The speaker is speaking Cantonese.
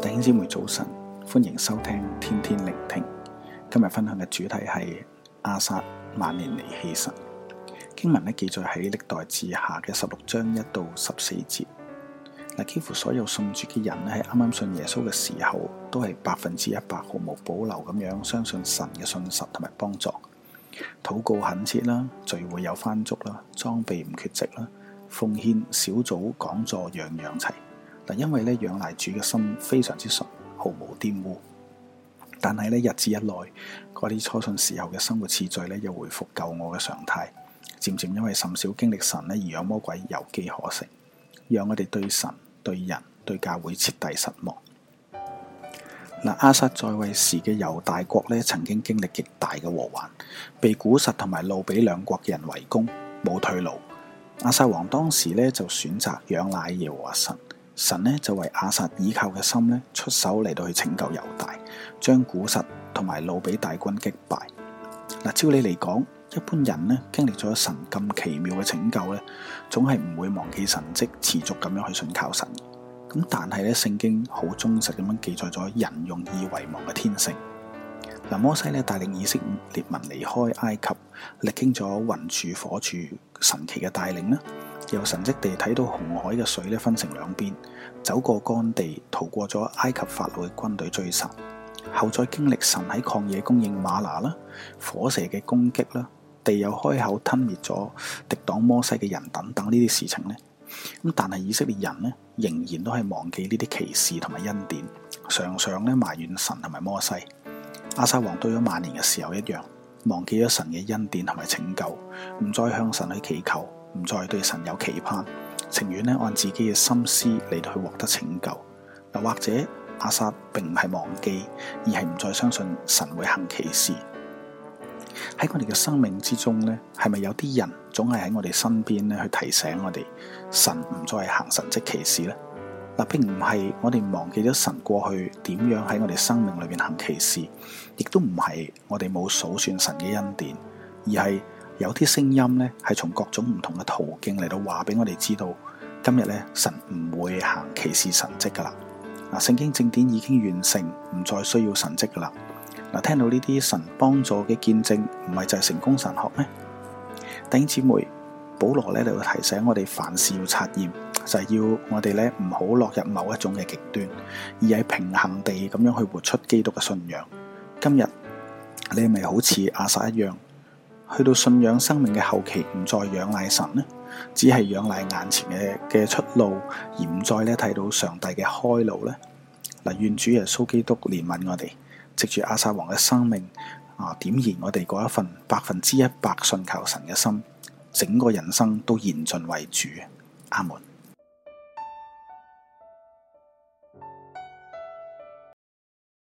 弟兄姊妹早晨，歡迎收聽天天聆聽。今日分享嘅主題係亞撒晚年離棄神。經文記載喺歷代志下嘅16章1到14節。幾乎所有信主嘅人喺啱啱信耶穌嘅時候，都係100%毫無保留咁樣相信神嘅信實同埋幫助，禱告懇切啦，聚會有翻足啦，裝備唔缺席啦，奉獻小組講座樣樣齊。因為仰賴主嘅心非常之純，毫無玷污。但係日子一耐，嗰啲初信時候嘅生活次序又回復舊我嘅常態，漸漸因為甚少經歷神而讓魔鬼有機可乘，讓我哋對神、對人、對教會徹底失望。亞撒在位時嘅猶大國曾經經歷極大嘅禍患，被古實同埋路比兩國嘅人圍攻，冇退路。亞撒王當時就選擇仰賴耶和華神。神就為亞撒倚靠嘅心出手嚟到去拯救猶大，將古實同埋路比大軍擊敗。照理嚟講，一般人經歷咗神咁奇妙嘅拯救總係唔會忘記神蹟，持續咁樣去信靠神。咁但係聖經好忠實咁樣記載咗人用以為王嘅天性。摩西帶領以色列民離開埃及，歷經咗雲柱火柱神奇嘅帶領，由神蹟地睇到紅海嘅水分成兩邊，走過乾地，逃過咗埃及法老嘅軍隊追殺，後再經歷神喺曠野供應嗎哪啦，火蛇嘅攻擊啦，地又開口吞滅咗敵擋摩西嘅人等等呢啲事情但係以色列人仍然都係忘記呢啲奇事同埋恩典，常常埋怨神同埋摩西。亞撒王到咗晚年嘅時候一樣，忘記咗神嘅恩典同埋拯救，唔再向神去祈求，唔再對神有期盼，情願按自己嘅心思嚟到去獲得拯救。或者亞撒並唔係忘記，而係唔再相信神會行奇事。喺我哋嘅生命之中係咪有啲人總係喺我哋身邊去提醒我哋，神唔再行神蹟奇事呢？並唔係我哋忘記咗神過去點樣喺我哋生命裏面行奇事，亦都唔係我哋冇數算神嘅恩典，而係有啲聲音係從各種唔同嘅途徑嚟到話俾我哋知道，今日神唔會行奇事神蹟噶啦。聖經正典已經完成，唔再需要神蹟噶啦。聽到呢啲神幫助嘅見證，唔係就係成功神學咩？弟兄姊妹，保羅嚟到提醒我哋凡事要察驗，就係要我哋唔好落入某一種嘅極端，而係平衡地咁樣去活出基督嘅信仰。今日你係咪好似亞撒一樣，去到信仰生命嘅後期，唔再仰賴神呢？只係仰賴眼前嘅出路，而唔再睇到上帝嘅開路呢？願主耶穌基督憐憫我哋，藉住亞撒王嘅生命點燃我哋嗰一份100%信靠神嘅心，整個人生都言盡為主。阿門。